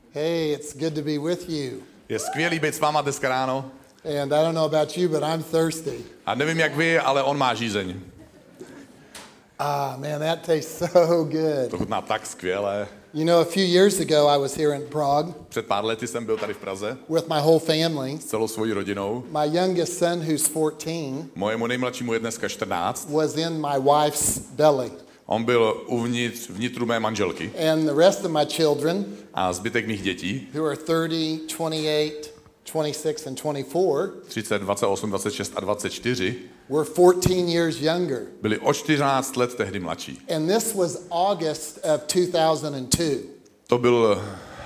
Hey, it's good to be with you. Je skvělý být s váma dneska ráno. And I don't know about you, but I'm thirsty. A nevím jak vy, ale on má žízeň. Man, that tastes so good. To chutná tak skvěle. You know, a few years ago, I was here in Prague Před pár lety jsem byl tady v Praze with my whole family. s celou svojí rodinou. My youngest son, who's 14, Mojemu nejmladšímu je dneska 14. was in my wife's belly. On byl uvnitř vnitru mé manželky. And the rest of my children, A zbytek mých dětí, who are 30, 28, 26, and 24, 30, 28, 26 a 24, were 14 years younger. byli o 14 let tehdy mladší. And this was August of 2002. To byl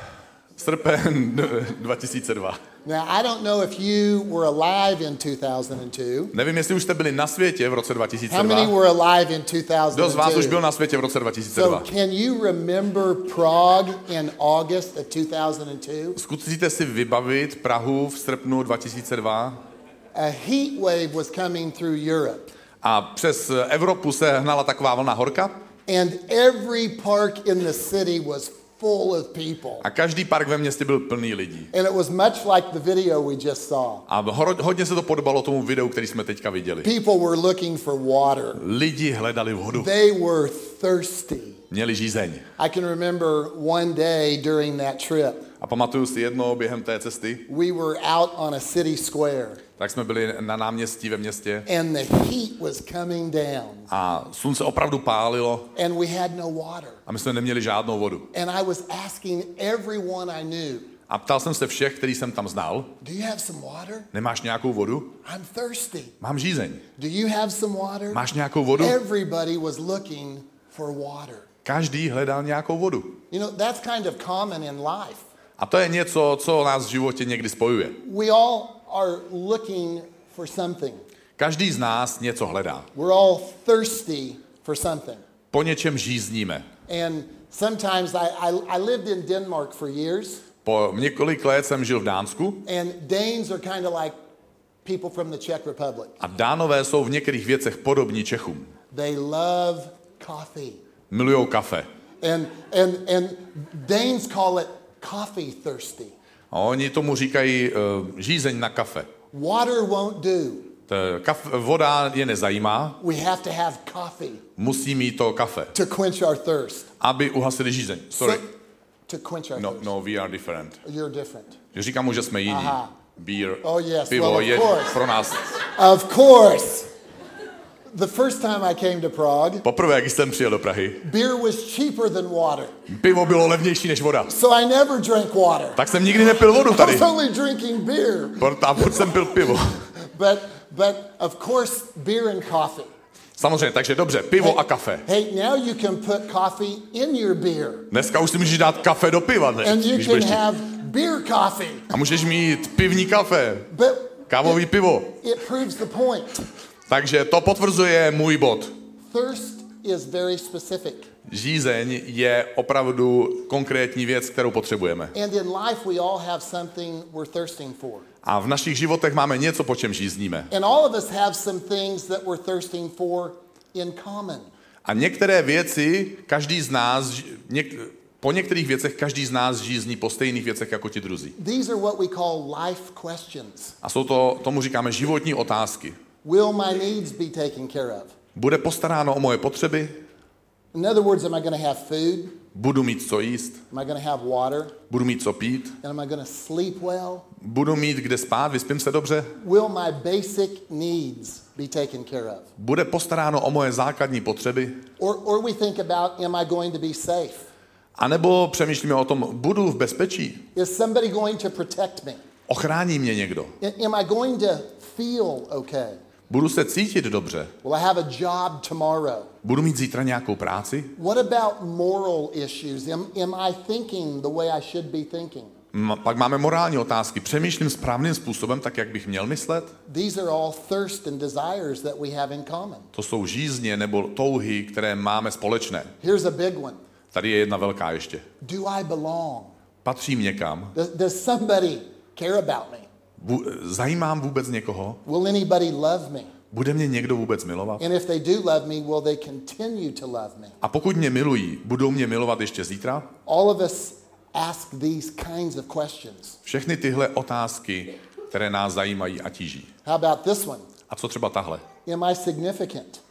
srpen 2002. Now, I don't know if you were alive in 2002. Nevím, jestli už jste byli na světě v roce How many 2002. were alive in Kdo z vás už 2002? byl na světě v roce So 2002? can you remember Prague in August of 2002? Zkusíte si vybavit Prahu v srpnu 2002? A heat wave was coming through Europe. A přes Evropu se hnala taková vlna horka And every park in the city was full of people. a každý park ve městě byl plný lidí. And it was much like the video we just saw. A hodně se to podobalo tomu videu, který jsme teďka viděli. People were looking for water. Lidi hledali vodu. They were thirsty. Měli žízeň. I can remember one day during that trip, A pamatuju si jednou během té cesty, we were out on a city square. tak jsme byli na náměstí ve městě And the heat was coming down. a slunce opravdu pálilo And we had no water. a my jsme neměli žádnou vodu. And I was asking everyone I knew, A ptal jsem se všech, který jsem tam znal, do you have some water? nemáš nějakou vodu? I'm thirsty. Mám žízeň. Do you have some water? Máš nějakou vodu? Everybody was looking for water. Každý hledal nějakou vodu. You know, that's kind of common in life. A to je něco, co nás v životě někdy spojuje. We all are looking for something. Každý z nás něco hledá. We're all thirsty for something. Po něčem žízníme. And sometimes I lived in Denmark for years, Po několik let jsem žil v Dánsku and Danes are kind of like people from the Czech Republic. a Dánové jsou v některých věcech podobní Čechům. They love coffee. Milujou kafe. And Danes call it coffee thirsty. A oni tomu říkají žízeň na kafe. Water won't do. Voda je nezajímá, We have to have coffee musí mít to kafe, to quench our thirst. aby uhasili žízeň. Sorry. To quench our thirst. No, we are different. You're different. Říkám mu, že jsme jiní. Aha. Beer, Oh, yes. pivo Well, of je course. pro nás. Of course. The first time I came to Prague, Poprvé, když jsem přijel do Prahy, beer was cheaper than water. pivo bylo levnější než voda. So I never drank water. Tak jsem nikdy nepil vodu I tady. was only drinking beer. A proč jsem pil pivo? But of course, beer and coffee. Samozřejmě, takže dobře, pivo a kafe. Hey, now you can put coffee in your beer. Dneska už si můžeš dát kafe do piva, ne? And you Když can budeš chtít. have beer coffee. A můžeš mít pivní kafe, But kávový pivo. it proves the point. Takže to potvrzuje můj bod. Thirst is very specific. Žízeň je opravdu konkrétní věc, kterou potřebujeme. And in life, we all have something we're thirsting for. A v našich životech máme něco, po čem žízníme. And all of us have some things that we're thirsting for in common. A některé věci, každý z nás, po některých věcech každý z nás žízní po stejných věcech jako ti druzí. These are what we call life questions. A tomu říkáme životní otázky. Will my needs be taken care of? Bude postaráno o moje potřeby? In other words, am I going to have food? Budu mít co jíst? Am I going to have water? Budu mít co pít? And am I going to sleep well? Budu mít kde spát? Vyspím se dobře? Will my basic needs be taken care of? Bude postaráno o moje základní potřeby? Or we think about, am I going to be safe? A nebo přemýšlíme o tom, budu v bezpečí? Is somebody going to protect me? Ochrání mě někdo? Am I going to feel okay? Budu se cítit dobře? Will I have a job tomorrow? Budu mít zítra nějakou práci? What about moral issues? Am I thinking the way I should be thinking? Pak máme morální otázky. Přemýšlím správným způsobem, tak jak bych měl myslet? These are all thirst and desires that we have in common. To jsou žízně nebo touhy, které máme společné. Here's a big one. Tady je jedna velká ještě. Do I belong? Patřím někam? Does somebody care about me? Zajímám vůbec někoho? Will anybody love me? Bude mě někdo vůbec milovat? And if they do love me, will they continue to love me? A pokud mě milují, budou mě milovat ještě zítra? All of us ask these kinds of questions. Všechny tyhle otázky, které nás zajímají a tíží. How about this one? A co třeba tahle? Am I significant?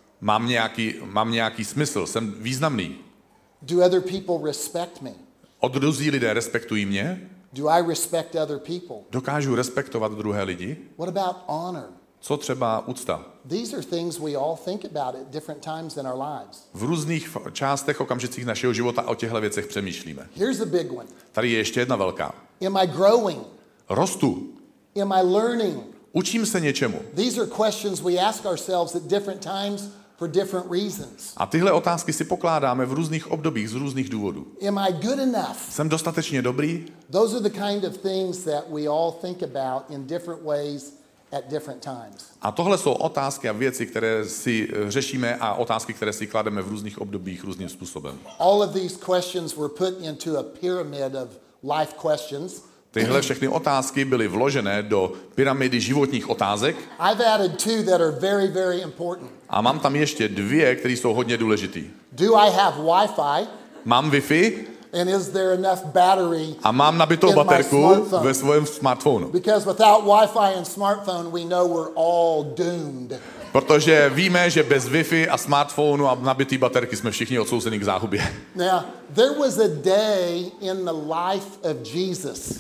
Mám nějaký smysl, jsem významný. Do other people respect me? Druzí lidé respektují mě? Do I respect other people? Dokážu respektovat druhé lidi? What about honor? Co třeba úcta? These are things we all think about at different times in our lives. V různých částech, okamžicích našeho života o těchto věcech přemýšlíme. Here's a big one. Tady je ještě jedna velká. Am I growing? Rostu. Am I learning? Učím se něčemu. These are questions we ask ourselves at different times for different reasons. A tyhle otázky si pokládáme v různých obdobích z různých důvodů. Am I good enough? Jsem dostatečně dobrý? Those are the kind of things that we all think about in different ways at different times. A tohle jsou otázky a věci, které si řešíme a otázky, které si klademe v různých obdobích různým způsobem. All of these questions were put into a pyramid of life questions. Tyhle všechny otázky byly vložené do pyramidy životních otázek. I've added two that are very, very important. A mám tam ještě dvě, které jsou hodně důležitý. Do I have Wi-Fi? Mám Wi-Fi And is there enough battery a mám nabitou in my baterku smartphone? ve svém smartphonu. Because without Wi-Fi and smartphone, we know we're all doomed. Protože víme, že bez Wi-Fi a smartphonu a nabitý baterky jsme všichni odsouzeni k záhubě. Now, there was a day in the life of Jesus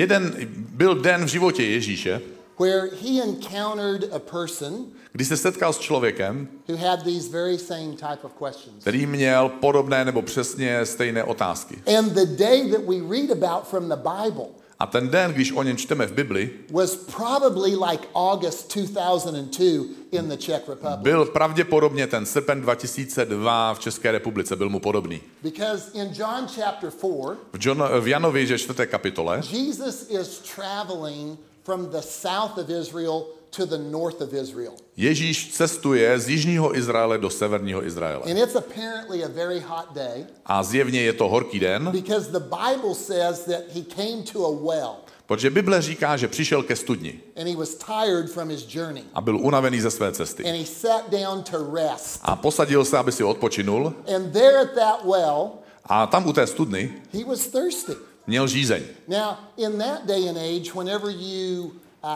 Byl den v životě Ježíše, where he encountered a person kdy se setkal s člověkem, who had these very same type of questions. který měl podobné nebo přesně stejné otázky. And the day that we read about from the Bible A ten den, když o něm čteme v Bibli, was probably like August 2002 in the Czech Republic. byl pravděpodobně ten srpen 2002 v České republice, byl mu podobný. Because in John chapter 4, V Janovi, že 4. kapitole, Jesus is traveling from the south of Israel to the north of Israel. Ježíš cestuje z jižního Izraele do severního Izraele. And it's apparently a very hot day A zjevně je to horký den, because the Bible says that he came to a well protože Bible říká, že přišel ke studni and he was tired from his journey. a byl unavený ze své cesty. And he sat down to rest. A posadil se, aby si odpočinul, And there at that well, a tam u té studny he was thirsty. měl žízeň. Now, in that day and age, whenever you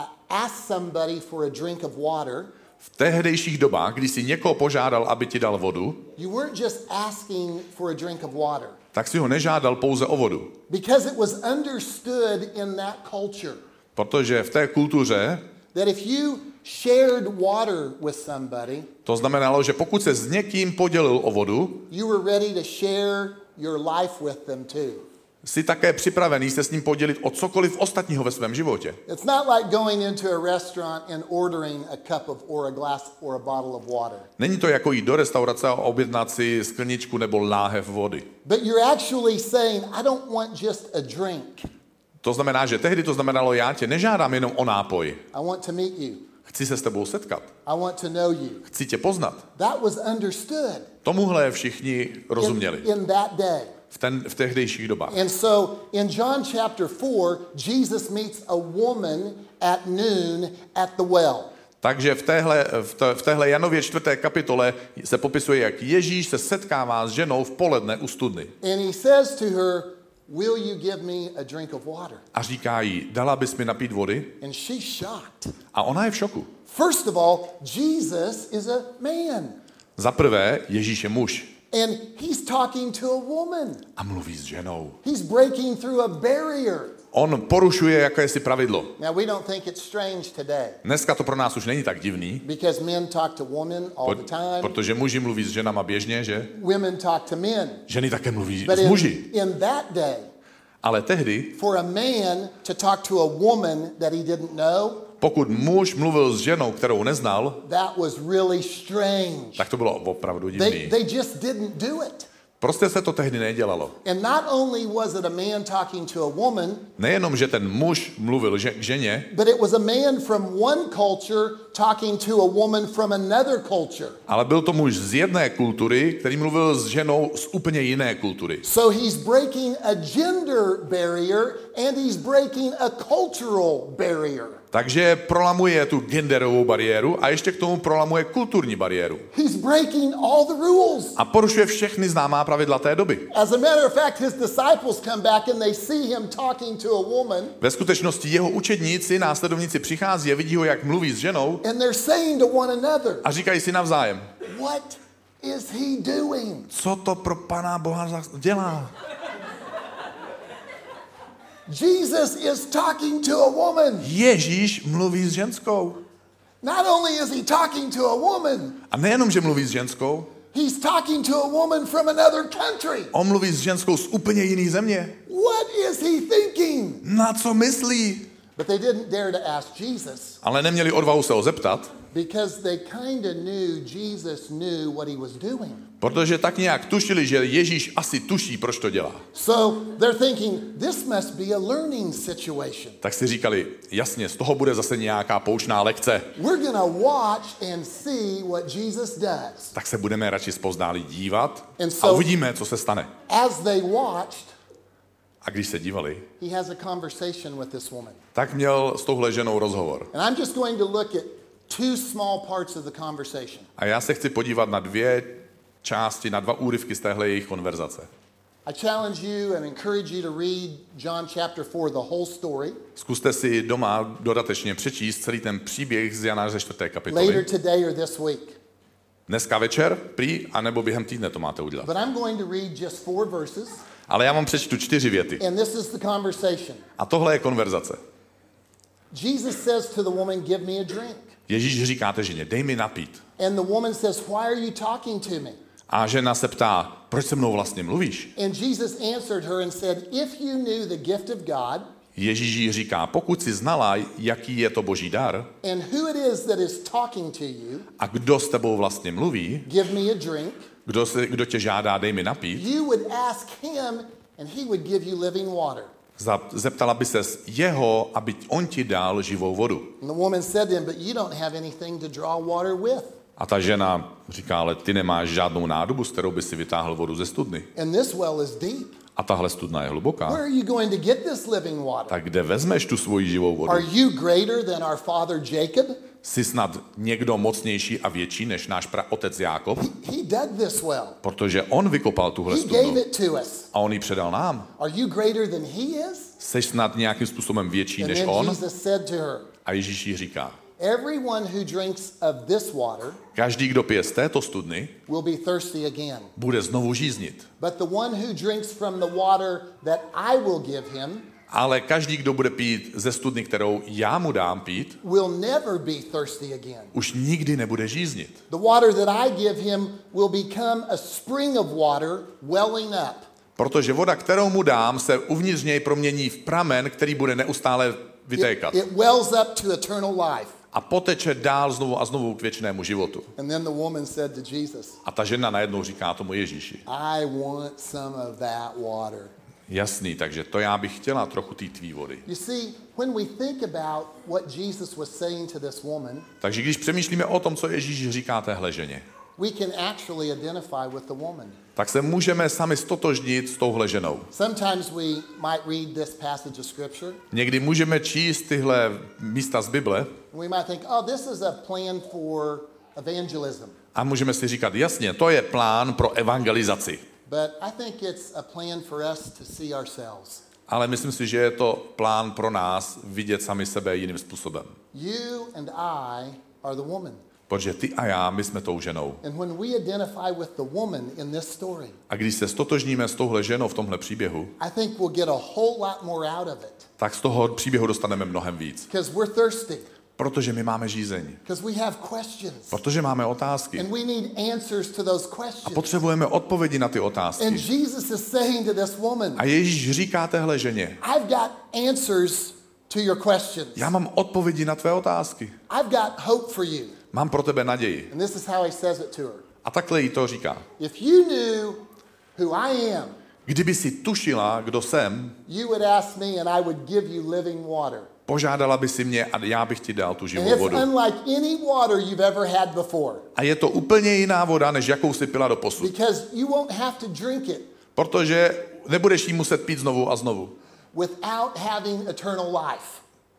ask somebody for a drink of water, V tehdejších dobách, když si někoho požádal, aby ti dal vodu, you weren't just asking for a drink of water. tak si ho nežádal pouze o vodu. Because it was understood in that culture Protože v té kultuře that if you shared water with somebody, to znamenalo, že pokud se s někým podělil o vodu, you were ready to share your life with them too. jsi také připravený se s ním podělit o cokoliv ostatního ve svém životě. It's not like going into a restaurant and ordering a cup of or a glass or a bottle of water. Není to jako jít do restaurace a objednat si skleničku nebo láhev vody. But you're actually saying, I don't want just a drink. To znamená, že tehdy to znamenalo, já tě nežádám jenom o nápoj. I want to meet you. Chci se s tebou setkat. I want to know you. Chci tě poznat. That was understood Tomuhle všichni rozuměli in that day. v tehdejších dobách. And so in John chapter 4, Jesus meets a woman at noon at the well. Takže v téhle Janově 4. kapitole se popisuje, jak Ježíš se setkává s ženou v poledne u studny. And he says to her, will you give me a drink of water? A říká jí, dala bys mi napít vody? And she's shocked. A ona je v šoku. First of all, Jesus is a man. Za prvé, Ježíš je muž. And he's talking to a woman. A mluví s ženou. He's breaking through a barrier. On porušuje jakési pravidlo. Now, we don't think it's strange today Dneska to pro nás už není tak divný, because men talk to women all the time. protože muži mluví s ženama běžně, že? Women talk to men. Ženy také mluví But s muži. in that day, Ale tehdy, for a man to talk to a woman that he didn't know, pokud muž mluvil s ženou, kterou neznal, that was really strange. tak to bylo opravdu divný. They just didn't do it. Prostě se to tehdy nedělalo. And not only was it a man talking to a woman, Nejenom, že ten muž mluvil k ženě, but it was a man from one culture talking to a woman from another culture. ale byl to muž z jedné kultury, který mluvil s ženou z úplně jiné kultury. So he's breaking a gender barrier and he's breaking a cultural barrier. Takže prolamuje tu genderovou bariéru a ještě k tomu prolamuje kulturní bariéru. He's breaking all the rules. A porušuje všechny známá pravidla té doby. As a matter of fact, his disciples come back and they see him talking to a woman. Ve skutečnosti jeho učedníci, následovníci přichází a vidí ho, jak mluví s ženou And they're saying to one another, a říkají si navzájem, what is he doing? co to pro Pana Boha dělá? Jesus is talking to a woman. Ježíš mluví s ženskou. Not only is he talking to a woman, A nejenom, že mluví s ženskou, he's talking to a woman from another country. on mluví s ženskou z úplně jiné země. What is he thinking? Na co myslí? But they didn't dare to ask Jesus Ale neměli odvahu se ho zeptat, because they kind of knew Jesus knew what he was doing. protože tak nějak tušili, že Ježíš asi tuší, proč to dělá. So they're thinking, this must be a learning situation. Tak si říkali, jasně, z toho bude zase nějaká poučná lekce. We're going to watch and see what Jesus does. Tak se budeme radši zpozdálí dívat And a so- uvidíme, co se stane. As they watched, A když se dívali, he has a conversation with this woman. tak měl s touhle ženou rozhovor. And I'm just going to look at two small parts of the conversation. A já se chci podívat na dvě části, na dva úryvky z téhle jejich konverzace. I challenge you and encourage you to read John chapter 4, the whole story, Zkuste si doma dodatečně přečíst celý ten příběh z Jana ze 4. later kapitoly. today or this week. Dneska večer, prý, anebo během týdne to máte udělat. But I'm going to read just 4 verses, Ale já vám přečtu 4 věty. and this is the conversation. A tohle je konverzace. Jesus says to the woman, give me a drink. Ježíš říká té ženě, dej mi napít. And the woman says, why are you talking to me? A žena se ptá, proč se mnou vlastně mluvíš? And Jesus answered her and said, if you knew the gift of God Ježíš jí říká, pokud si znala, jaký je to boží dar and who it is that is talking to you, a kdo s tebou vlastně mluví, give me a drink, kdo tě žádá, dej mi napít, you would ask him and he would give you living water. zeptala by ses jeho, aby on ti dal živou vodu. And the woman said to him, but you don't have anything to draw water with. A ta žena říká, ale ty nemáš žádnou nádobu, s kterou by si vytáhl vodu ze studny. And this well is deep. A tahle studna je Where hluboká. are you going to get this living water? Tak kde vezmeš tu svoji živou vodu? Are you greater than our father Jacob? Jsi snad někdo mocnější a větší než náš praotec Jákob? He dug this well. Protože on vykopal tuhle He gave studnu it to us. a on ji předal nám. Are you greater than he is? Jsi snad nějakým způsobem větší And než then on? Jesus said to her, A Ježíš jí říká, everyone who drinks of this water každý, kdo pije z této studny, will be thirsty again. bude znovu žíznit. But the one who drinks from the water that I will give him Ale každý, kdo bude pít ze studny, kterou já mu dám pít, will never be thirsty again. už nikdy nebude žíznit. The water that I give him will become a spring of water welling up. Protože voda, kterou mu dám, se uvnitř něj promění v pramen, který bude neustále vytékat. It wells up to eternal life. A poteče dál znovu a znovu k věčnému životu. And then the woman said to Jesus, A ta žena najednou říká tomu Ježíši, I want some of that water. jasný, takže to já bych chtěla trochu té tvý vody. You see, when we think about what Jesus was saying to this woman, Takže když přemýšlíme o tom, co Ježíš říká téhle ženě, we can actually identify with the woman. tak se můžeme sami stotožnit s touhle ženou. Sometimes we might read this passage of scripture, Někdy můžeme číst tyhle místa z Bible and we might think, oh, this is a plan for evangelism. a můžeme si říkat, jasně, to je plán pro evangelizaci. But I think it's a plan for us to see ourselves. Ale myslím si, že je to plán pro nás vidět sami sebe jiným způsobem. You and I are the woman. Protože ty a já, my jsme tou ženou. And when we identify with the woman in this story, A když se stotožníme s touhle ženou v tomhle příběhu, I think we'll get a whole lot more out of it. tak z toho příběhu dostaneme mnohem víc. Because we're thirsty. Protože my máme žízeň. Because we have questions. Protože máme otázky. And we need answers to those questions. Potřebujeme odpovědi na ty And otázky. Jesus is saying to this woman, A Ježíš říká téhle ženě, I've got answers to your questions. já mám odpovědi na tvé otázky. I've got hope for you. Mám pro tebe naději. And this is how he says it to her. A takhle jí to říká. If you knew who I am, Kdyby si tušila, kdo jsem, you would ask me and I would give you living water. požádala by si mě a já bych ti dal tu And živou it's vodu. unlike any water you've ever had before. A je to úplně jiná voda, než jakou si pila do posud. Because you won't have to drink it Protože nebudeš jí muset pít znovu a znovu. without having eternal life.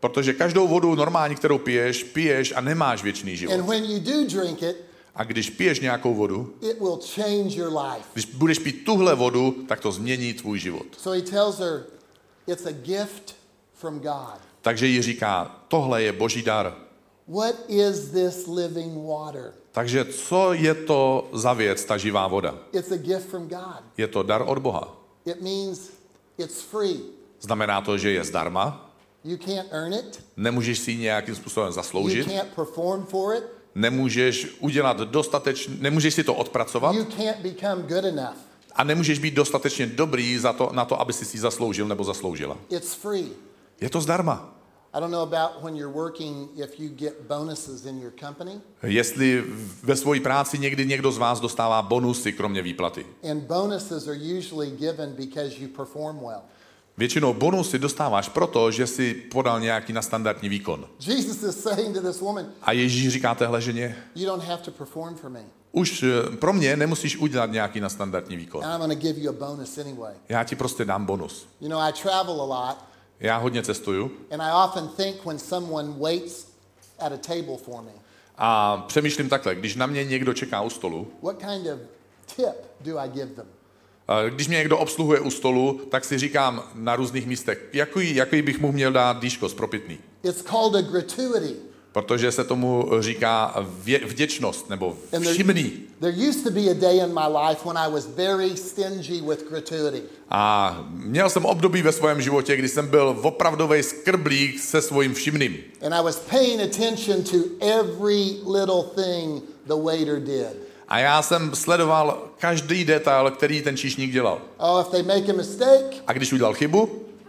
Protože každou vodu normální, kterou piješ a nemáš věčný život. And when you do drink it, A když piješ nějakou vodu, it will change your life. když budeš pít tuhle vodu, tak to změní tvůj život. So he tells her, it's a gift from God. Takže jí říká, tohle je boží dar. What is this living water? Takže co je to za věc, ta živá voda? It's a gift from God. Je to dar od Boha. It means it's free. Znamená to, že je zdarma, You can't earn it. nemůžeš si ji nějakým způsobem You zasloužit, can't perform for it. nemůžeš udělat nemůžeš si to odpracovat You can't become good enough. a nemůžeš být dostatečně dobrý na to, aby si ji zasloužil nebo zasloužila. It's free. Je to zdarma. I don't know about when you're working if you get bonuses in your company. Jestli ve své práci někdy někdo z vás dostává bonusy kromě výplaty. And bonuses are usually given because you perform well. Většinou bonusy dostáváš proto, že si podal nějaký nadstandardní výkon. Jesus is saying to this woman, A Ježíš říká téhle ženě, you don't have to perform for me. už pro mě nemusíš udělat nějaký nadstandardní výkon. And I'm going to give you a bonus anyway. Já ti prostě dám bonus. You know, I travel a lot, Já hodně cestuju and I often think when someone waits at a table for me, a přemýšlím takhle, když na mě někdo čeká u stolu, what kind of tip do I give them? když mě někdo obsluhuje u stolu, tak si říkám na různých místech, jaký bych mu měl dát dýško zpropitný. It's called a gratuity. Protože se tomu říká vděčnost nebo všimný. There used to be a day in my life when I was very stingy with gratuity. A měl jsem období ve svém životě, kdy jsem byl opravdový skrblík se svým všimným. And I was paying attention to every little thing the waiter did. A já jsem sledoval každý detail, který ten číšník dělal. Oh, if they make a mistake, A když udělal chybu,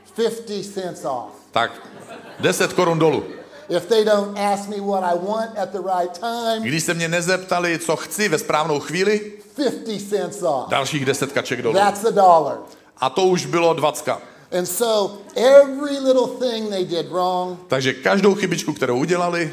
50 cents off. tak 10 korun dolů. If they don't ask me what I want at the right time, Když se mě nezeptali, co chci ve správnou chvíli, 50 cents off. dalších 10 kaček dolů. That's $1. A to už bylo 20. And so every little thing they did wrong, Takže každou chybičku, kterou udělali,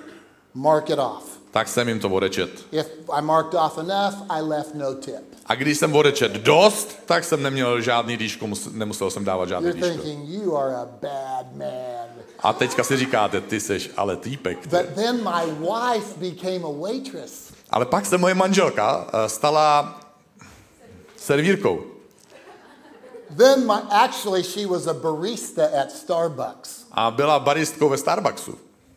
mark it off. tak jsem jim to odečet. If I marked off enough, I left no tip. A když jsem odečet dost, tak jsem neměl žádný dýško, nemusel jsem dávat žádný You're dýško. thinking, you are a bad man. A teďka si říkáte, ty seš ale týpek. But then my wife became a waitress. Ale pak se moje manželka stala servírkou. Then actually she was a barista at Starbucks. A byla baristkou ve Starbucksu.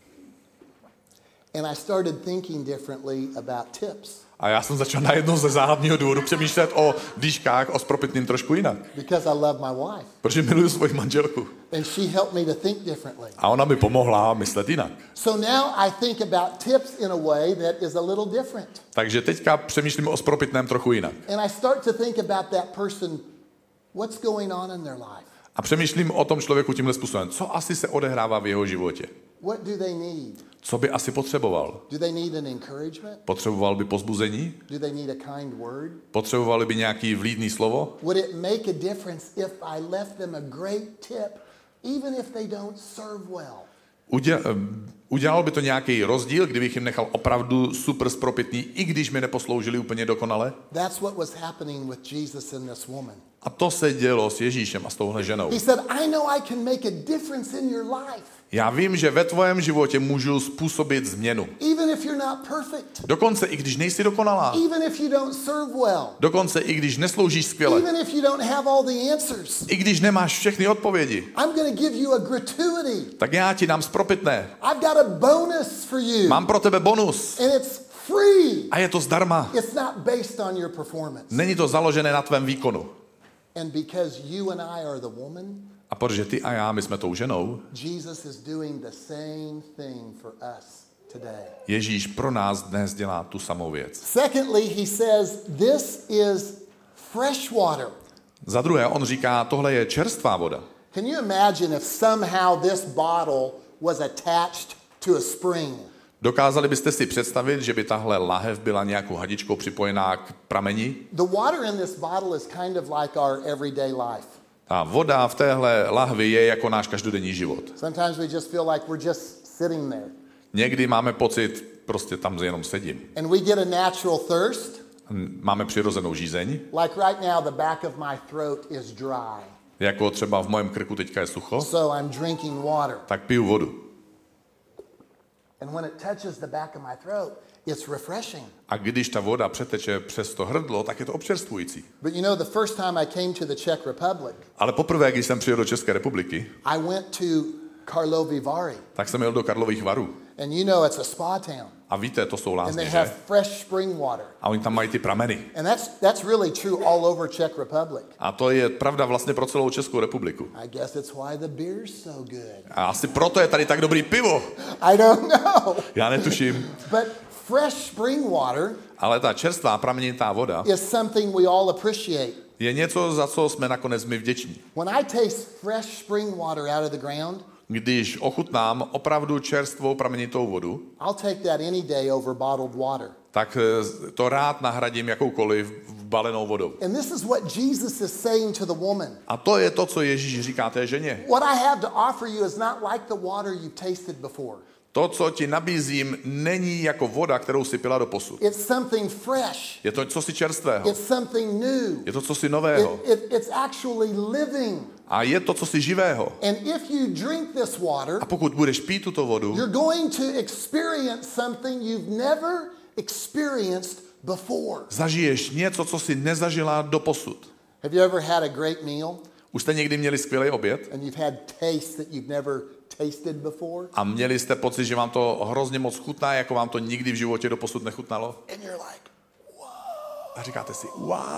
And I started thinking differently about tips. A já jsem začal najednou ze záhadného důvodu přemýšlet o dýškách, o zpropitným trošku jinak. Because I love my wife. Protože miluju svoji manželku. And she helped me to think differently. A ona mi pomohla myslet jinak. So now I think about tips in a way that is a little different. Takže teďka přemýšlím o zpropitném trochu jinak. And I start to think about that person, what's going on in their life? A přemýšlím o tom člověku tímhle způsobem. Co asi se odehrává v jeho životě? What do they need? Co by asi potřeboval? Do they need an encouragement? Potřeboval by pozbuzení? Do they need a kind word? Potřebovali by nějaký vlídný slovo? Would it make a difference if I left them a great tip, even if they don't serve well? Udělal by to nějaký rozdíl, kdybych jim nechal opravdu super zpropitný, i když mi neposloužili úplně dokonale? That's what was happening with Jesus and this woman. A to se dělo s Ježíšem a s touhle ženou. He said, I know I can make a difference in your life. Já vím, že ve tvém životě můžu způsobit změnu. Even if you're not perfect. Dokonce i když nejsi dokonalá. Even if you don't serve well. Dokonce i když nesloužíš skvěle. Even if you don't have all the answers. I když nemáš všechny odpovědi. I'm going to give you a gratuity. Tak já ti dám zpropitné. I've got a bonus for you. Mám pro tebe bonus. And it's free. A je to zdarma. It's not based on your performance. Není to založené na tvém výkonu. And because you and I are the woman, a protože ty a já, my jsme tou ženou, Jesus is doing the same thing for us today. Ježíš pro nás dnes dělá tu samou věc. Secondly, he says, this is fresh water. Za druhé, on říká, tohle je čerstvá voda. Can you imagine if somehow this bottle was attached to a spring? Dokázali byste si představit, že by tahle lahev byla nějakou hadičkou připojená k prameni? The water in this bottle is kind of like our everyday life. A voda v téhle lahvi je jako náš každodenní život. Sometimes we just feel like we're just sitting there. Někdy máme pocit, prostě tam jenom sedím. And we get a natural thirst. Máme přirozenou žízeň. Like right now, the back of my throat is dry. Jako třeba v mém krku teďka je sucho, so I'm drinking water. tak piju vodu. And when it touches the back of my throat, it's refreshing. A když ta voda přeteče přes to hrdlo, tak je to občerstvující. But you know, the first time I came to the Czech Republic, Ale poprvé, když jsem přijel do České republiky, I went to Karlovy Vary. tak jsem jel do Karlových Varů. And you know it's a spa town. A víte, to jsou And they lázně, have že? fresh spring water. A oni tam mají ty prameny. And that's really true all over Czech Republic. A to je pravda vlastně pro celou Českou republiku. I guess it's why the beer's so good. A asi proto je tady tak dobrý pivo. I don't know. Já netuším. But fresh spring water Ale ta čerstvá pramenitá voda is something we all appreciate. je něco, za co jsme nakonec my vděční. When I taste fresh spring water out of the ground, Když ochutnám opravdu čerstvou pramenitou vodu, I'll take that any day over bottled water. tak to rád nahradím jakoukoliv balenou vodou. And this is what Jesus is saying to the woman. A to je to, co Ježíš říká té ženě. What I have to offer you is not like the water you've tasted before. To, co ti nabízím, není jako voda, kterou si pila doposud. It's something fresh. Je to cosi čerstvého. It's something new. Je to cosi nového. It's actually living. A je to cosi živého. And if you drink this water, A pokud budeš pít tuto vodu, you're going to experience something you've never experienced before. zažiješ něco, co si nezažila doposud. Have you ever had a great meal Už jste někdy měli skvělý oběd and you've had taste that you've never tasted before? a měli jste pocit, že vám to hrozně moc chutná, jako vám to nikdy v životě doposud nechutnalo? And you're like, A říkáte si,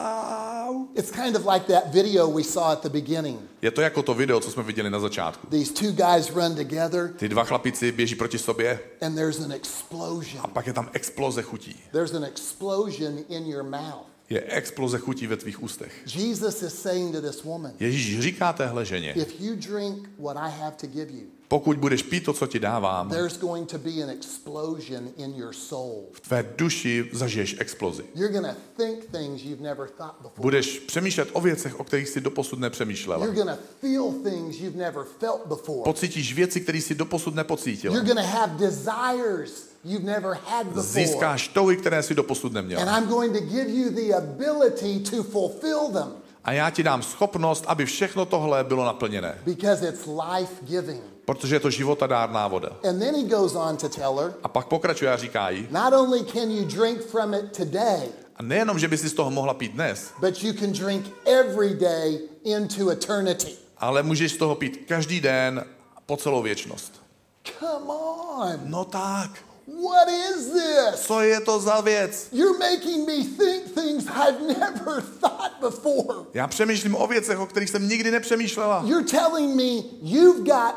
wow. it's kind of like that video we saw at the beginning. Je to jako to video, co jsme viděli na začátku. These two guys run together Ty dva chlapici běží proti sobě and there's an explosion. a pak je tam exploze chutí. There's an explosion in your mouth. Je exploze chutí ve tvých ústech. Jesus is saying to this woman, Ježíš říká téhle ženě, if you drink what I have to give you, pokud budeš pít to, co ti dávám, there's going to be an explosion in your soul. v tvé duši zažiješ explozi. You're going to think things you've never thought before. Budeš přemýšlet o věcech, o kterých jsi doposud nepřemýšlela. You're going to feel things you've never felt before. Pocítíš věci, které jsi doposud nepocítila. You're going to have desires you've never had before. Získáš touhy, které jsi doposud And neměla. I'm going to give you the ability to fulfill them A já ti dám schopnost, aby všechno tohle bylo naplněné. because it's life-giving. Protože je to životadárná voda. And then he goes on to tell her, A pak pokračuje a říká jí, not only can you drink from it today, a nejenom, že by si z toho mohla pít dnes, but you can drink every day into eternity. ale můžeš z toho pít každý den po celou věčnost. Come on. No tak, What is this? co je to za věc? You're making me think things I've never thought before. Já přemýšlím o věcech, o kterých jsem nikdy nepřemýšlela. You're telling me you've got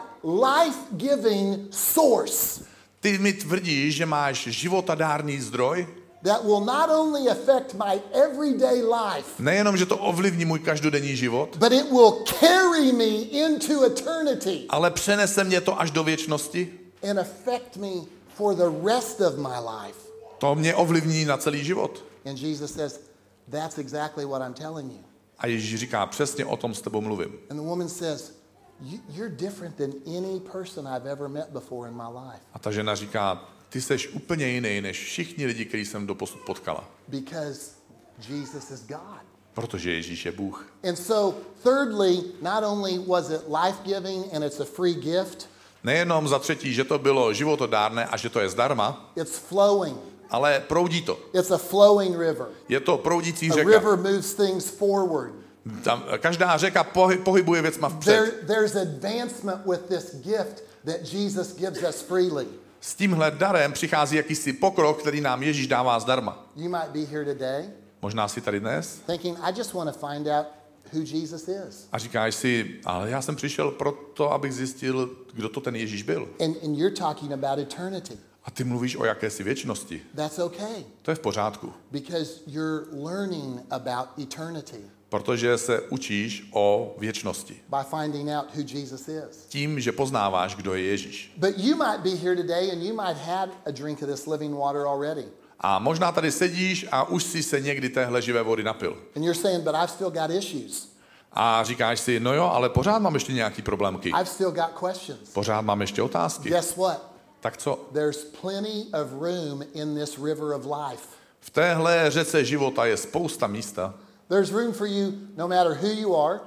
life-giving source Ty mi tvrdíš, že máš životadárný zdroj? that will not only affect my everyday life, Nejenom, že to ovlivní můj každodenní život, but it will carry me into eternity ale přenese mě to až do věčnosti. and affect me for the rest of my life. To mě ovlivní na celý život. And Jesus says, that's exactly what I'm telling you. A Ježíš říká, přesně o tom s tebou mluvím. And the woman says, you're different than any person I've ever met before in my life. A ta žena říká, ty seš úplně jiný než všichni lidi, který jsem doposud potkala. Because Jesus is God. Protože Ježíš je Bůh. And so, thirdly, not only was it life-giving and it's a free gift, Nejenom za třetí, že to bylo životodárné a že to je zdarma, it's flowing. ale proudí to. It's a flowing river. Je to proudící A řeka. river moves things forward. Tam, každá řeka pohybuje věcma vpřed. There's advancement with this gift that Jesus gives us freely. S tímhle darem přichází jakýsi pokrok, který nám Ježíš dává zdarma. You might be here today Možná si tady dnes thinking, I just want to find out who Jesus is. a říkáš si, ale já jsem přišel proto, abych zjistil, kdo to ten Ježíš byl. And you're talking about eternity. A ty mluvíš o jakési věčnosti. That's okay To je v pořádku, because you're learning about eternity protože se učíš o věčnosti. by finding out who Jesus is. Tím, že poznáváš, kdo je Ježíš. But you might be here today and you might have a drink of this living water already. A možná tady sedíš a už si se někdy téhle živé vody napil. And you're saying, but I've still got issues. A říkáš si, no jo, ale pořád mám ještě nějaký problémky. I've still got questions. Pořád mám ještě otázky. Guess what? Tak co? There's plenty of room in this river of life. V téhle řece života je spousta místa. There's room for you no matter who you are,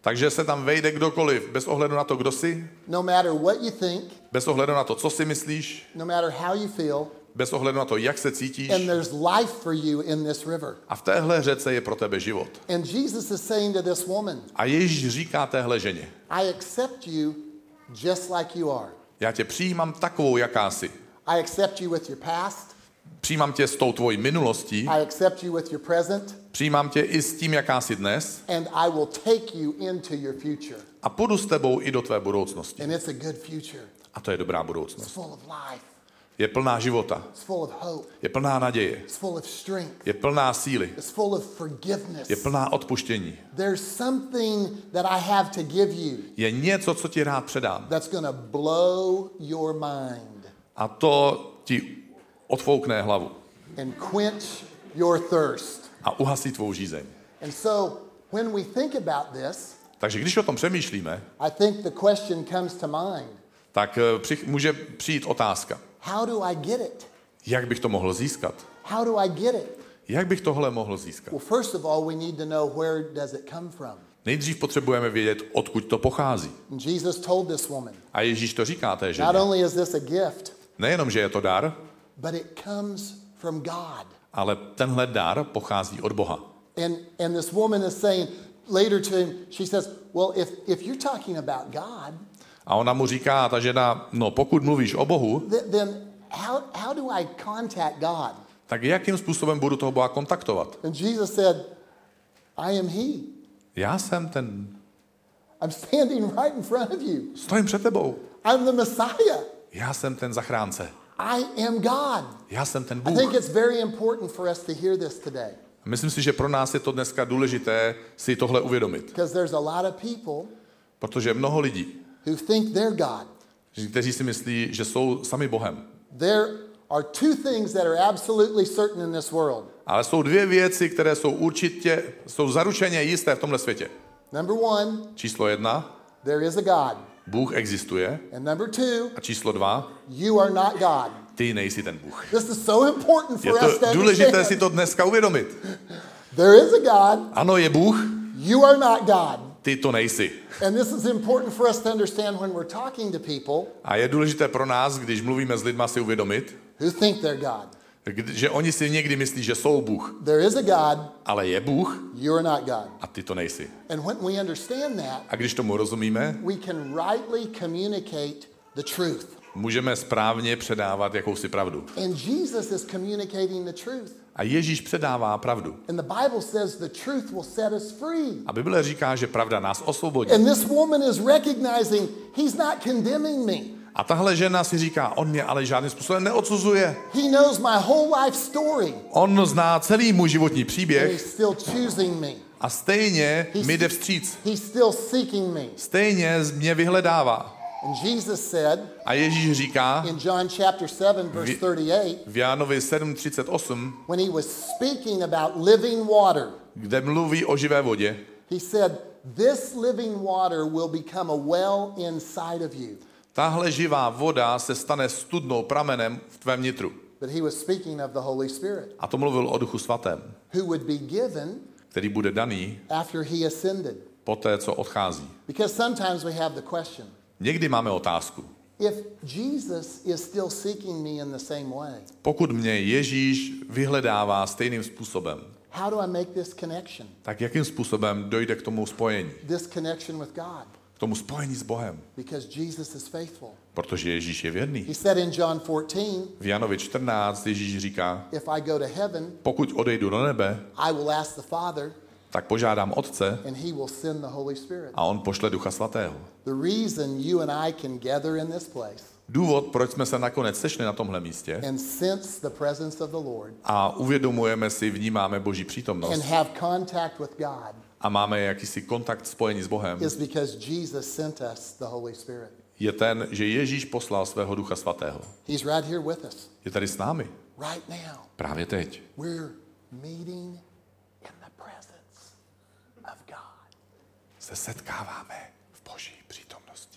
Takže se tam vejde kdokoliv, bez ohledu na to, kdo jsi, no matter what you think, bez ohledu na to, co si myslíš, no matter how you feel, bez ohledu na to, jak se cítíš. and there's life for you in this river. A v téhle řece je pro tebe život. And Jesus is saying to this woman, A Ježíš říká téhle ženě, I accept you just like you are. já tě přijímám takovou, jaká jsi. I accept you with your past. Přijímám tě s tou tvojí minulostí, I accept you with your present. přijímám tě i s tím, jaká jsi dnes And I will take you into your future. a půjdu s tebou i do tvé budoucnosti. And it's a good future. A to je dobrá It's budoucnost. full of life. Je plná života, It's full of hope. je plná naděje, It's full of strength. je plná síly, It's full of forgiveness. je plná odpuštění. There's something that I have to give you Je něco, co ti rád předám. that's going to blow your mind A to ti odfoukne hlavu and quench your thirst. a uhasí tvou žízeň. And so when we think about this, Takže když o tom přemýšlíme, I think the question comes to mind. tak může přijít otázka. How do I get it? Jak bych to mohl získat? How do I get it? Jak bych tohle mohl získat? Well, first of all, we need to know where does it come from. Nejdřív potřebujeme vědět, odkud to pochází. And Jesus told this woman, A Ježíš to říká té not ženě. only is this a gift, Nejenom, že je to dar, but it comes from God. ale tenhle dar pochází od Boha. And this woman is saying later to him, she says, well, if you're talking about God, A ona mu říká, ta žena, no pokud mluvíš o Bohu, then how do I contact God? tak jakým způsobem budu toho Boha kontaktovat? And Jesus said, I am he. Já jsem ten, I'm standing right in front of you. stojím před tebou. I'm the Messiah. Já jsem ten zachránce. I am God. Já jsem ten I think Bůh. it's very important for us to hear this today. Myslím si, že pro nás je to dneska důležité si tohle uvědomit. Because there's a lot of people Protože mnoho lidí, who think they're God. kteří si myslí, že jsou sami Bohem. There are two things that are absolutely certain in this world. Ale jsou dvě věci, které jsou zaručeně jisté v tomhle světě. Number one, Číslo 1, there is a God. Bůh existuje. And number two, A číslo 2, you are not God. ty nejsi ten Bůh. This is so important Je for us to to důležité si understand. to dneska uvědomit. There is a God. Ano, je Bůh, You are not God. ty to nejsi. And this is important for us to understand when we're talking to people A je důležité pro nás, když mluvíme s lidma, si uvědomit, who think they're God. že oni si někdy myslí, že jsou Bůh, There is a God. ale je Bůh You are not God. a ty to nejsi. And when we understand that, A když tomu rozumíme, we can rightly communicate the truth. můžeme správně předávat jakousi pravdu. And Jesus is communicating the truth. A Ježíš předává pravdu. And the Bible says the truth will set us free. A Bible říká, že pravda nás osvobodí. And this woman is recognizing he's not condemning me. A tahle žena si říká, on mě ale žádným způsobem neodsuzuje. He knows my whole life story. On zná celý můj životní And příběh he's still choosing me. a stejně mi jde vstříc. He's still seeking me. Stejně mě vyhledává. And Jesus said A Ježíš říká in John chapter 7 verse 38, v Jánovi 7:38, when he was speaking about living water, kde mluví o živé vodě, he said, this living water will become a well inside of you. tahle živá voda se stane studnou pramenem v tvém nitru. But he was speaking of the Holy Spirit, A to mluvil o Duchu Svatém, who would be given který bude daný after he ascended. poté, co odchází. Because sometimes we have the question, Někdy máme otázku. if Jesus is still seeking me in the same way, Pokud mě Ježíš vyhledává stejným způsobem, how do I make this connection? tak jakým způsobem dojde k tomu spojení? This connection with God. K tomu spojení s Bohem. Because Jesus is faithful. Protože Ježíš je věrný. He said in John 14, V Janovi 14 Ježíš říká, if I go to heaven, pokud odejdu do nebe, I will ask the Father, tak požádám Otce and he will send the Holy Spirit. a on pošle Ducha Svatého. The reason you and I can gather in this place Důvod, proč jsme se nakonec sešli na tomhle místě and sense the presence of the Lord a uvědomujeme si, vnímáme Boží and přítomnost have contact with God a máme jakýsi kontakt, spojení s Bohem, is because Jesus sent us the Holy Spirit. je ten, že Ježíš poslal svého Ducha Svatého. He's right here with us, Je tady s námi. right now. Právě teď. We're meeting in the presence of God. Se setkáváme v Boží přítomnosti.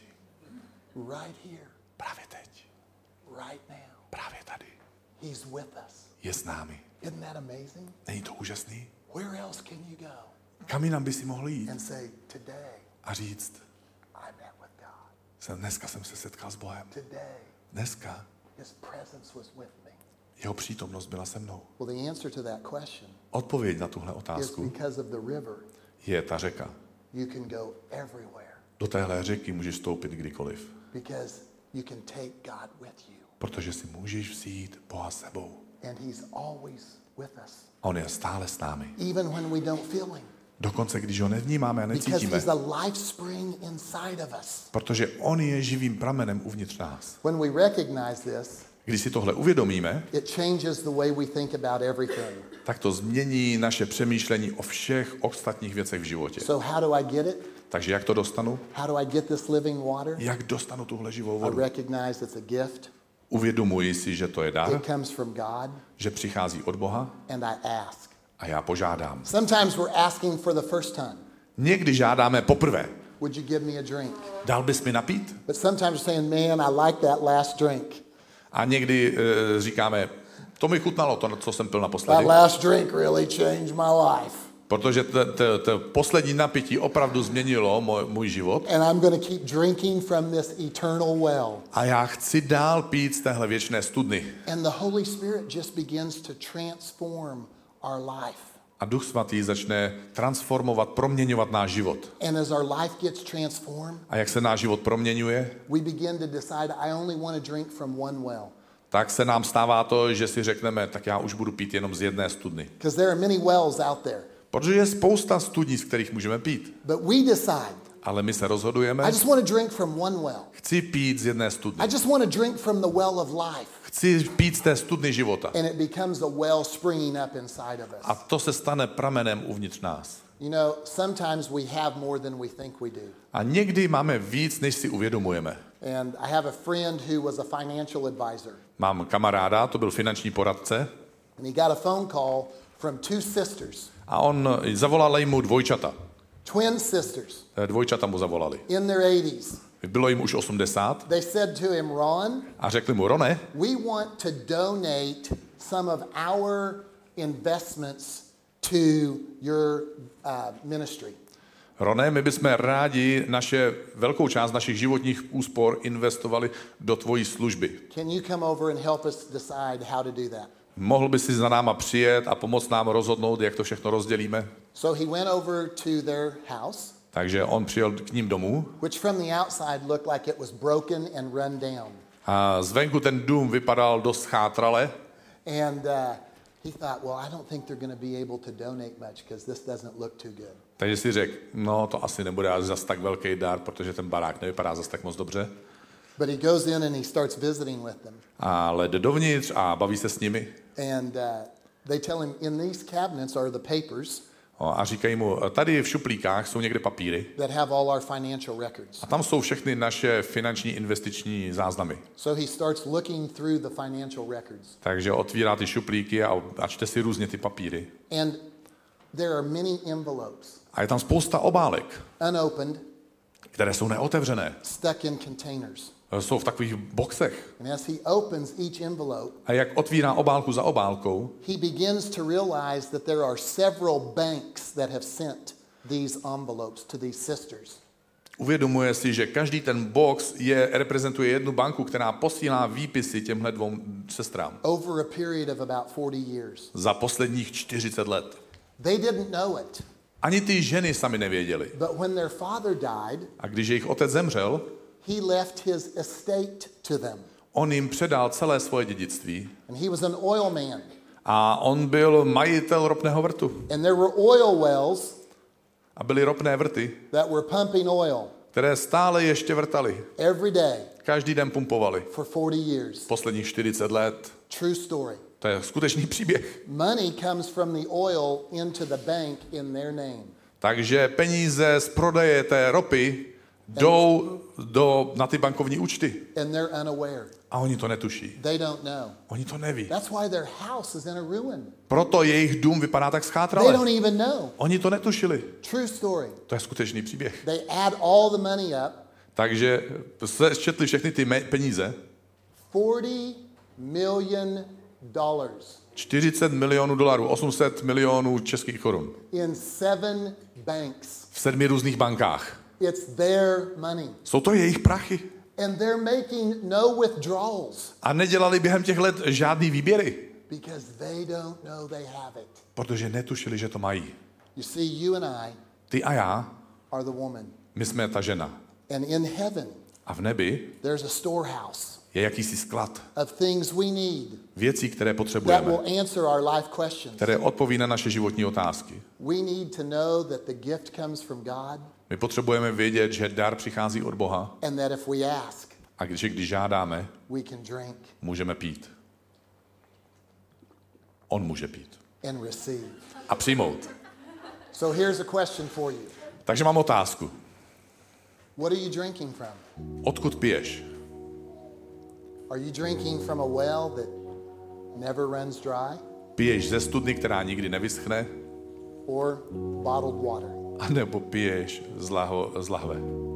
Right here, Právě teď. right now. Právě tady. He's with us. Je s námi. Isn't that amazing? Není to úžasný? Where else can you go Kam jinam by si mohl jít and say, today, a říct, I met with God. dneska jsem se setkal s Bohem. Today, Dneska his presence was with me. jeho přítomnost byla se mnou. Well, the answer to that question Odpověď na tuhle is otázku because of the river, je ta řeka. you can go everywhere Do téhle řeky můžeš vstoupit kdykoliv, because you can take God with you. protože si můžeš vzít Boha s sebou. And he's always with us, A on je stále s námi. even when we don't feel him, Dokonce, když ho nevnímáme a because necítíme. he's the life spring inside of us. Protože on je živým pramenem uvnitř nás. When we recognize this, Když si tohle uvědomíme, it changes the way we think about everything. tak to změní naše přemýšlení o všech ostatních věcech v životě. So how do I get it? Takže jak to dostanu? How do I get this living water? Jak dostanu tuhle živou I vodu? recognize it's a gift. Uvědomuji si, že to je dar, It comes from God, že přichází od Boha and I ask. a já požádám. Sometimes we're asking for the first time. Někdy žádáme poprvé. Would you give me a drink? Dal bys mi napít? But sometimes we're saying, man, I like that last drink. A někdy říkáme, to mi chutnalo, to, co jsem pil That naposledy. last drink really changed my life. Protože to poslední napití opravdu změnilo můj život. And I'm going to keep drinking from this eternal well. A já chci dál pít z téhle věčné studny. And the Holy Spirit just begins to transform our life. A Duch Svatý začne transformovat, proměňovat náš život. And as our life gets transformed, A jak se náš život proměňuje, we begin to decide, I only want to drink from one well. tak se nám stává to, že si řekneme, tak já už budu pít jenom z jedné studny. Because there are many wells out there. Protože je spousta studní, z kterých můžeme pít. But we decide, Ale my se rozhodujeme, I just want to drink from one well. chci pít z jedné studny. I just want to drink from the well of life. Chci pít z té studny života. And it becomes a well springing up inside of A us. to se stane pramenem uvnitř nás. You know, sometimes we have more than we think we do. A někdy máme víc, než si uvědomujeme. And I have a friend who was a financial advisor. Mám kamaráda, to byl finanční poradce, And he got a phone call from two sisters, a on zavolal mu dvojčata. twin sisters Dvojčata mu zavolali. in their 80s. Bylo jim už 80 They said to him, Ron, a řekli mu, Rone, we want to donate some of our investments to your ministry. Rone, my bychom rádi velkou část našich životních úspor investovali do tvojí služby. Can you come over and help us decide how to do that? Mohl by si za náma přijet a pomoct nám rozhodnout, jak to všechno rozdělíme? So he went over to their house, Takže on přijel k ním domů which from the outside looked like it was broken and run down. a zvenku ten dům vypadal dost chátrale. And he thought, well, I don't think they're going to be able to donate much because this doesn't look too good. Takže si řekl, no to asi nebude zas tak velký dar, protože ten barák nevypadá zas tak moc dobře. But he goes in and he starts visiting with them. Ale jde dovnitř a baví se s nimi. And they tell him, in these cabinets are the papers A říkají mu, tady v šuplíkách jsou někde papíry that have all our financial records. a tam jsou všechny naše finanční investiční záznamy. So he starts looking through the financial records. Takže otvírá ty šuplíky a čte si různě ty papíry. And there are many envelopes, A je tam spousta obálek, unopened, které jsou neotevřené. stuck in containers. Jsou v takových boxech. And as he opens each envelope, A jak otvírá obálku za obálkou, he begins to realize that there are several banks that have sent these envelopes to these sisters. uvědomuje si, že každý ten box reprezentuje jednu banku, která posílá výpisy těmhle dvou sestrám. Over a period of about 40 years. Za posledních 40 let. They didn't know it, Ani ty ženy sami nevěděly. but when their father died, A když jejich otec zemřel, he left his estate to them. on jim předal celé svoje dědictví. And he was an oil man. A on byl majitel ropného vrtu. And there were oil wells A byly ropné vrty, that were pumping oil které stále ještě vrtaly. every day Každý den pumpovali. for 40 years. Posledních 40 let. True story. To je skutečný příběh. Money comes from the oil into the bank in their name. Takže peníze z prodeje té ropy jdou na ty bankovní účty. And they're unaware. A oni to netuší. They don't know. Oni to neví. That's why their house is in a ruin. Proto jejich dům vypadá tak They schátrale. don't even know. Oni to netušili. True story. To je skutečný příběh. They add all the money up. Takže se četli všechny ty peníze. $40 million 40 milionů dolarů, 800 milionů českých korun. in 7 banks. V 7 různých bankách. It's their money. Jsou to jejich prachy. And they're making no withdrawals. A nedělali během těch let žádný výběry. Because they don't know they have it. Protože netušili, že to mají. You see, you and I Ty a já, are the woman. my jsme ta žena. And in heaven, A v nebi there's a storehouse je jakýsi sklad of things we need věcí, které that potřebujeme, will answer our life questions. které odpoví na naše životní otázky. We need to know that the gift comes from God My potřebujeme vědět, že dar přichází od Boha and that if we ask, a když žádáme, we can drink můžeme pít. On může pít. and receive. A přijmout. So here's a question for you. Takže mám otázku. What are you drinking from? Odkud piješ? Are you drinking from a well that never runs dry Piješ ze studny, která nikdy nevyschne? or bottled water? A nebo piješ z lahve?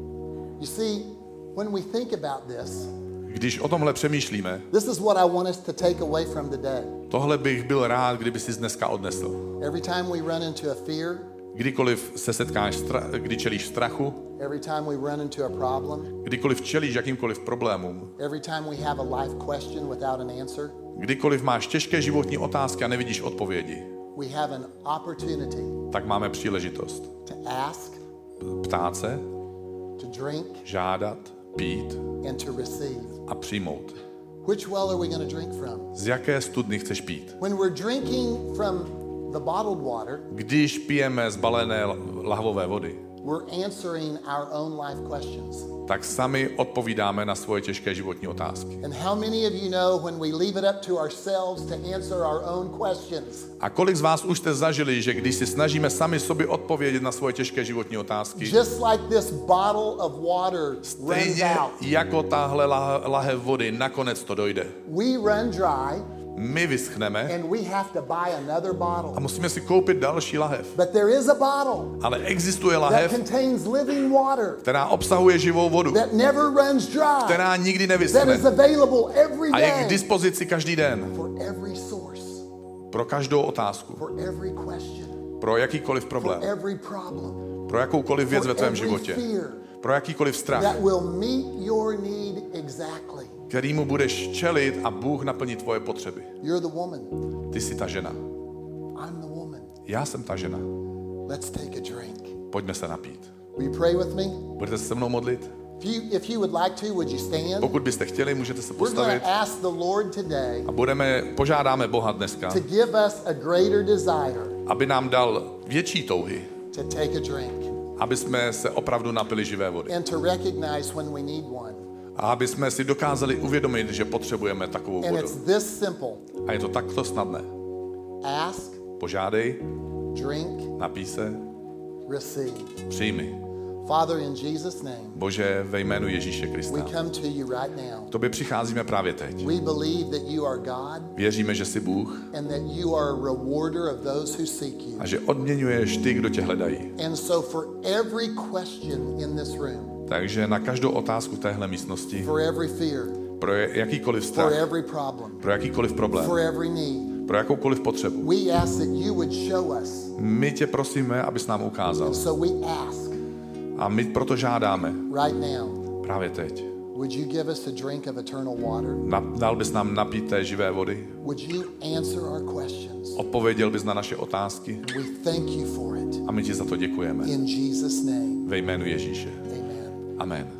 You see, when we think about this, Když o tomhle přemýšlíme, this is what I want us to take away from the day. tohle bych byl rád, kdyby si dneska odnesl. Every time we run into a fear, Kdykoliv se setkáš, kdy čelíš strachu, every time we run into a problem, kdykoliv čelíš jakýmkoliv problémům, every time we have a life question without an answer, kdykoliv máš těžké životní otázky a nevidíš odpovědi, we have an opportunity tak máme příležitost to ask, ptát se, to drink, žádat, pít and to receive. a přijmout. Which well are we going to drink from? Z jaké studny chceš pít? When we're drinking from the bottled water, Když pijeme z balené lahvové vody, we're answering our own life questions. tak sami odpovídáme na svoje těžké životní otázky. And how many of you know when we leave it up to ourselves to answer our own questions, A kolik z vás už jste zažili, že když si snažíme sami sobě odpovědět na svoje těžké životní otázky, just like this bottle of water runs stejně out, jako tahle lahev vody, nakonec to dojde. we run dry My vyschneme and we have to buy another bottle. a musíme si koupit další lahev. But there is a bottle Ale existuje that lahev, contains living water která obsahuje živou vodu, that never runs dry, která nikdy that is nevyschne available every a je k day dispozici každý den for every source, pro každou otázku, for every question, pro jakýkoliv for problém, every problem, pro jakoukoliv věc for ve tvém every životě, fear pro jakýkoliv strach, that will meet your need exactly. kterýmu budeš čelit a Bůh naplní tvoje potřeby. You're the woman. Ty jsi ta žena. I'm the woman. Já jsem ta žena. Let's take a drink. Pojďme se napít. Will you pray with me? Budete se se mnou modlit? If you would like to, would you stand? Pokud byste chtěli, můžete se We're going postavit to ask the Lord today a požádáme Boha dneska, to give us a greater desire aby nám dal větší touhy, to take a drink aby jsme se opravdu napili živé vody. and to recognize when we need one. A aby jsme si dokázali uvědomit, že potřebujeme takovou And vodu. it's this simple. A je to takto snadné. Ask, Požádej, drink, napij se, receive. přijmi. Father, in Jesus' name, Bože, ve jménu Ježíše we Krista. come to you right now. K tobě přicházíme právě teď. We believe that you are God Věříme, že jsi Bůh and that you are a rewarder of those who seek you. a že odměňuješ ty, kdo tě hledají. And so for every question in this room, Takže na každou otázku téhle místnosti, for every fear, pro jakýkoliv for strach, every problem, pro jakýkoliv problém, for every need, pro jakoukoliv potřebu, we ask that you would show us. my tě prosíme, abys nám ukázal. So we ask A my proto žádáme right now, právě teď. would you give us a drink of eternal water? Dal bys nám napít té živé vody? Would you answer our questions? Odpověděl bys na naše otázky? We thank you for it. A my ti za to děkujeme. In Jesus' name, Ve jménu Ježíše. amen. Amen.